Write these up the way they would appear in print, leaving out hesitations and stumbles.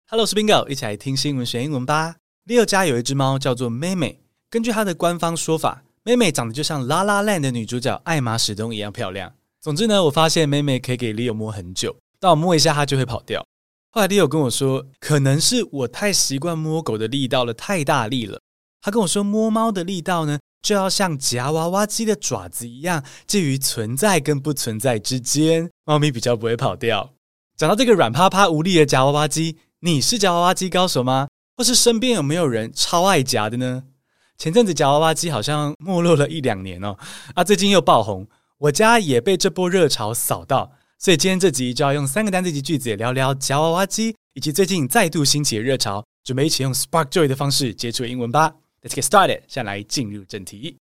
Hello， 我是 Bingo， 一起來聽新聞學英文吧。Leo 家有一隻貓叫做妹妹，根據她的官方說法，妹妹長得就像 La La Land 的女主角艾瑪史東一樣漂亮。總之呢，我發現妹妹可以給 Leo 摸很久，但我摸一下她就會跑掉。後來 Leo 跟我說，可能是我太習慣摸狗的力道了，太大力了。他跟我說，摸貓的力道呢，就要像夾娃娃機的爪子一樣，介於存在跟不存在之間，貓咪比較不會跑掉。講到這個軟趴趴無力的夾娃娃機，你是夾娃娃機高手嗎？或是身邊有沒有人超愛夾的呢？前陣子夾娃娃機好像沒落了1-2年哦，最近又爆紅，我家也被這波熱潮掃到，所以今天這集就要用3個單字及句子聊聊夾娃娃機，以及最近再度興起的熱潮，準備一起用 Spark Joy 的方式接觸英文吧。Let's get started， 現在來進入正題。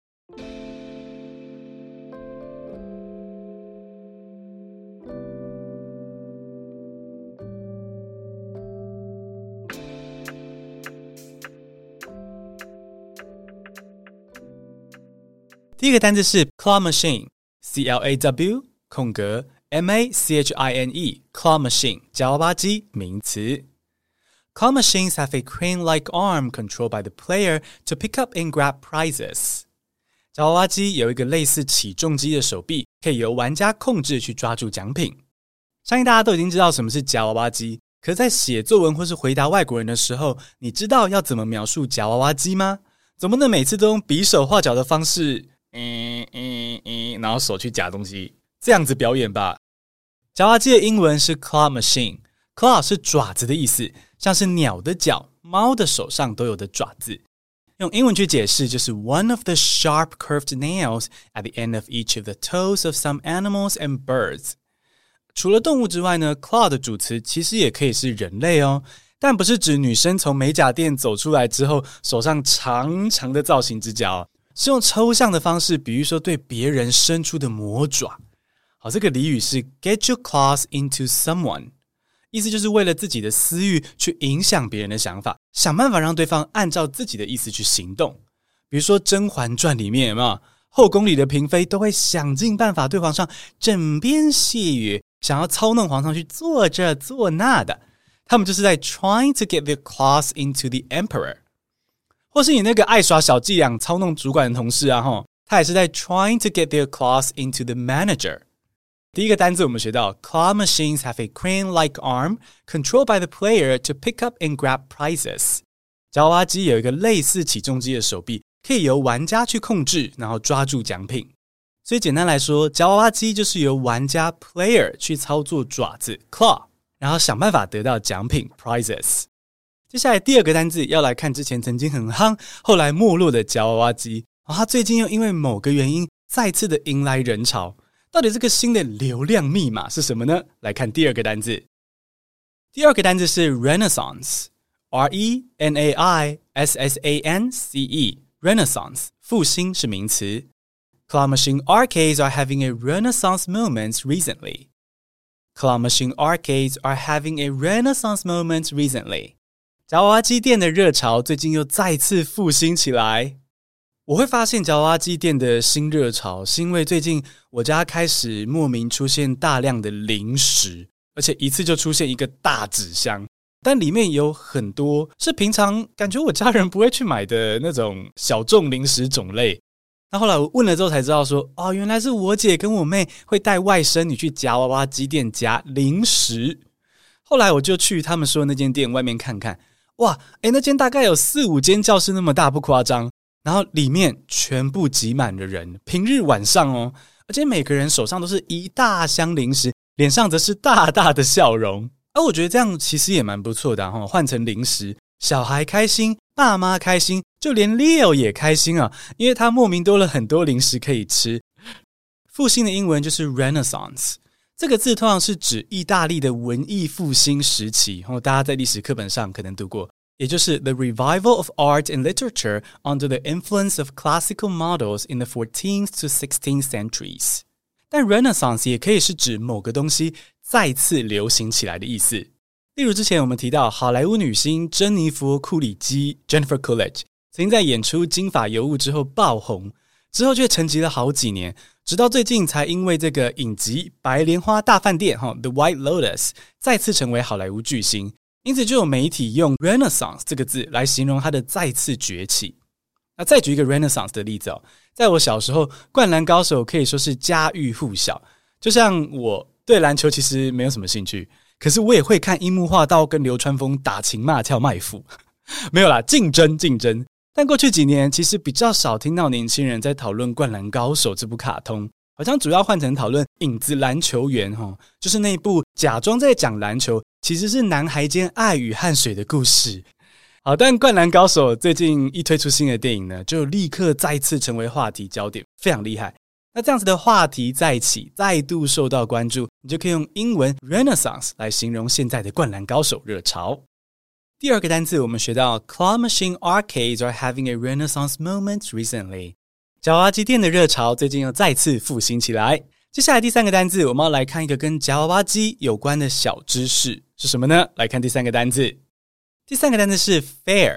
第一個單字是 claw machine， C-L-A-W 空格 M-A-C-H-I-N-E claw machine 夾娃娃機名詞。Claw machines have a crane-like arm controlled by the player to pick up and grab prizes. 夾娃娃機有一個類似起重機的手臂，可以由玩家控制去抓住獎品。相信大家都已經知道什麼是夾娃娃機，可是在寫作文或是回答外國人的時候，你知道要怎麼描述夾娃娃機嗎？總不能每次都用比手畫腳的方式然後手去夾東西，這樣子表演吧。夾娃娃機的英文是 claw machine， claw 是爪子的意思，像是鳥的腳、貓的手上都有的爪子。用英文去解釋就是 one of the sharp curved nails at the end of each of the toes of some animals and birds。 除了動物之外呢， claw 的主詞其實也可以是人類哦，但不是指女生從美甲店走出來之後手上長長的造型指甲哦，是用抽象的方式比喻說對別人伸出的魔爪。好，這個俚語是 get your claws into someone， 意思就是為了自己的私欲去影響別人的想法，想辦法讓對方按照自己的意思去行動。比如說《甄嬛傳》裡面有沒有後宮裡的嬪妃都會想盡辦法對皇上枕邊細語，想要操弄皇上去做這做那的，他們就是在 trying to get their claws into the emperor。或是你那個愛耍小伎倆操弄主管的同事啊，他也是在 trying to get their claws into the manager。 第一個單字我們學到 claw machines have a crane-like arm controlled by the player to pick up and grab prizes。 夾娃娃機有一個類似起重機的手臂，可以由玩家去控制，然後抓住獎品。所以簡單來說，夾娃娃機就是由玩家 player 去操作爪子 claw， 然後想辦法得到獎品 prizes。接下來第二個單字要來看之前曾經很夯後來沒落的夾娃娃機，它最近又因為某個原因再次的迎來人潮。到底這個新的流量密碼是什麼呢？來看第二個單字。第二個單字是 Renaissance， R-E-N-A-I-S-S-A-N-C-E Renaissance 復興是名詞。 Claw machine arcades are having a renaissance moment recently. Claw machine arcades are having a renaissance moment recently. 夾娃娃機店的熱潮最近又再次復興起來。我會發現夾娃娃機店的新熱潮是因為最近我家開始莫名出現大量的零食，而且一次就出現一個大紙箱，但裡面有很多是平常感覺我家人不會去買的那種小眾零食種類。那後來我問了之後才知道說，原來是我姐跟我妹會帶外甥女去夾娃娃機店夾零食。後來我就去他們說的那間店外面看看，哇，那間大概有4-5間教室那麼大，不誇張。然後裡面全部擠滿了人，平日晚上哦，而且每個人手上都是一大箱零食，臉上則是大大的笑容。我覺得這樣其實也蠻不錯的哈，換成零食，小孩開心，爸媽開心，就連 Leo 也開心啊，因為他莫名多了很多零食可以吃。復興的英文就是 Renaissance， 這個字通常是指意大利的文藝復興時期，大家在歷史課本上可能讀過。也就是 the revival of art and literature under the influence of classical models in the 14th to 16th centuries。 但 Renaissance 也可以是指某個東西再次流行起來的意思。例如之前我們提到好萊塢女星珍妮佛·庫里基 Jennifer Coolidge 曾經在演出金髮尤物之後爆紅，之後卻沉寂了好幾年，直到最近才因為這個影集《白蓮花大飯店》The White Lotus 再次成為好萊塢巨星。 因此就有媒體用 Renaissance 這個字來形容它的再次崛起。那再舉一個 Renaissance 的例子哦，在我小時候，灌籃高手可以說是家喻戶曉。就像我對籃球其實沒有什麼興趣，可是我也會看櫻木花道跟流川楓打情罵俏賣腐。沒有啦，競爭。但過去幾年，其實比較少聽到年輕人在討論《灌籃高手》這部卡通，好像主要換成討論《影子籃球員》就是那部假裝在講籃球，其實是男孩間愛與汗水的故事。好，但《灌籃高手》最近一推出新的電影呢，就立刻再次成為話題焦點，非常厲害。那這樣子的話題再起，再度受到關注，你就可以用英文 Renaissance 來形容現在的灌籃高手熱潮。第二個單字我們學到 Claw machine arcades are having a renaissance moment recently。夾娃娃機店的熱潮最近又再次復興起來。接下來第三個單字我們要來看一個跟夾娃娃機有關的小知識，是什麼呢？來看第三個單字。第三個單字是 fair，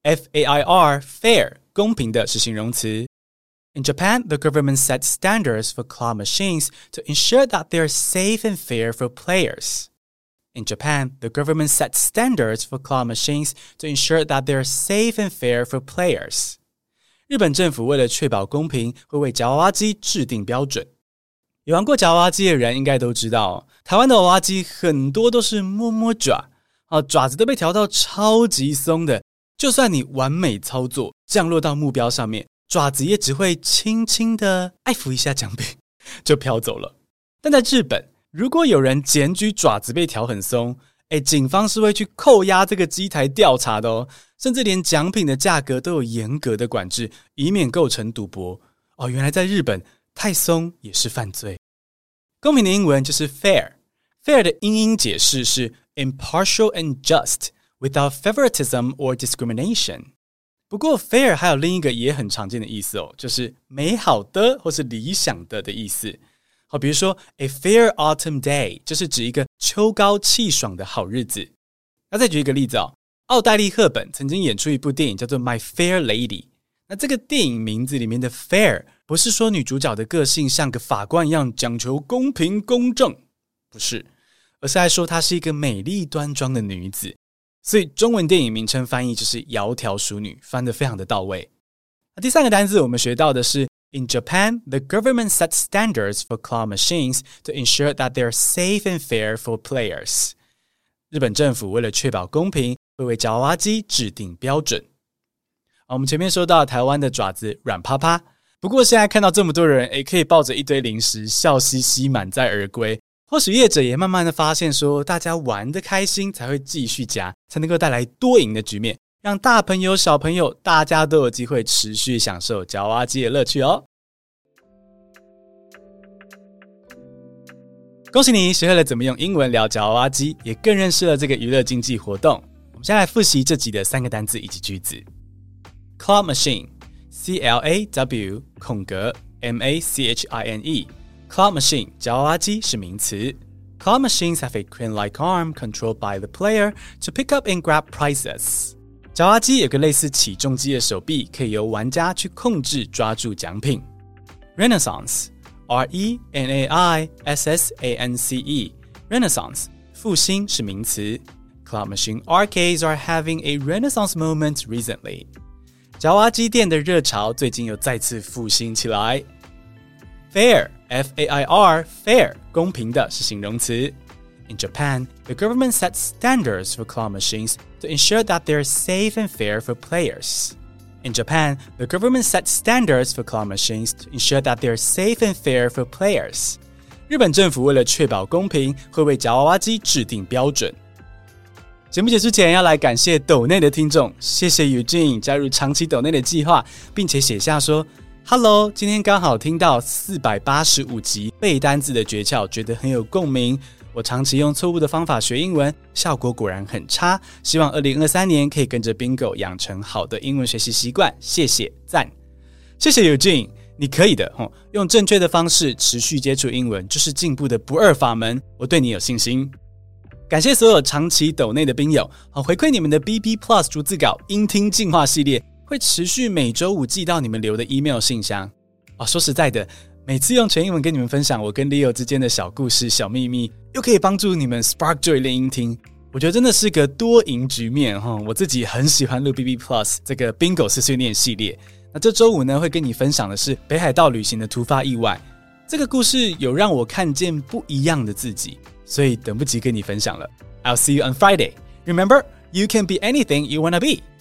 F-A-I-R， fair， 公平的是形容詞。In Japan, the government sets standards for claw machines to ensure that they are safe and fair for players. In Japan, the government sets standards for claw machines to ensure that they are safe and fair for players. 日本政府為了確保公平，會為夾娃娃機制定標準。有玩過夾娃娃機的人應該都知道，台灣的娃娃機很多都是摸摸爪，爪子都被調到超級鬆的，就算你完美操作，降落到目標上面，爪子也只會輕輕的愛撫一下獎品，就飄走了。但在日本，如果有人檢舉爪子被調很鬆，警方是會去扣押這個機台調查的哦，甚至連獎品的價格都有嚴格的管制，以免構成賭博。原來在日本，太鬆也是犯罪。公平的英文就是 fair。fair 的英解釋是 impartial and just, without favoritism or discrimination。不過 fair 還有另一個也很常見的意思哦，就是美好的或是理想的意思。好，比如說 a fair autumn day 就是指一個秋高氣爽的好日子。那再舉一個例子哦，奧黛麗·赫本曾經演出一部電影叫做 My Fair Lady。那這個電影名字裡面的 fair 不是說女主角的個性像個法官一樣講求公平公正，不是，而是在說她是一個美麗端莊的女子。所以中文電影名稱翻譯就是窈窕淑女，翻得非常的到位。那第三個單字我們學到的是In Japan, the government sets standards for claw machines to ensure that they are safe and fair for players. 日本政府為了確保公平，會為夾娃娃機制定標準。我們前面說到台灣的爪子軟趴趴，不過現在看到這麼多人可以抱着一堆零食笑嘻嘻滿載而歸，或許業者也慢慢的發現說，大家玩得開心才會繼續夾，才能夠帶來多贏的局面，讓大朋友小朋友大家都有機會持續享受夾娃娃機的樂趣哦。恭喜你學會了怎麼用英文聊夾娃娃機，也更認識了這個娛樂經濟活動。我們先來複習這集的三個單字以及句子。Claw machine, C-L-A-W, M-A-C-H-I-N-E Claw machine 夾娃娃機是名詞。Claw machines have a crane-like arm controlled by the player to pick up and grab prizes. 夾娃娃機有個類似起重機的手臂，可以由玩家去控制抓住獎品。Renaissance, R-E-N-A-I-S-S-A-N-C-E Renaissance 復興是名詞。Claw machine arcades are having a renaissance moment recently. 夾娃娃機店的熱潮最近又再次復興起來。Fair, F-A-I-R, fair, 公平的是形容詞。In Japan, the government sets standards for claw machines to ensure that they are safe and fair for players. In Japan, the government sets standards for claw machines to ensure that they are safe and fair for players. 日本政府為了確保公平，會為夾娃娃機制定標準。節目結束前要來感謝抖內的聽眾，謝謝 Eugene 加入長期抖內的計劃，並且寫下說 Hello， 今天剛好聽到485集背單字的訣竅，覺得很有共鳴。我長期用錯誤的方法學英文，效果果然很差。希望2023年可以跟着 Bingo 養成好的英文學習習慣。謝謝，讚。謝謝 Eugene， 你可以的，用正確的方式持續接觸英文，就是進步的不二法門。我對你有信心。感謝所有長期抖內的賓友，回饋你們的 BB Plus 逐字稿英聽進化系列，會持續每週5寄到你們留的 email 信箱。說實在的，每次用全英文跟你們分享我跟 Leo 之間的小故事、小祕密，又可以幫助你們 Spark Joy 練英聽， 我覺得真的是個多贏局面哈。我自己很喜歡錄 BB Plus 這個 Bingo 碎碎念系列。那這週五呢，會跟你分享的是北海道旅行的突發意外。這個故事有讓我看見不一樣的自己，所以等不及跟你分享了。I'll see you on Friday. Remember, you can be anything you wanna be.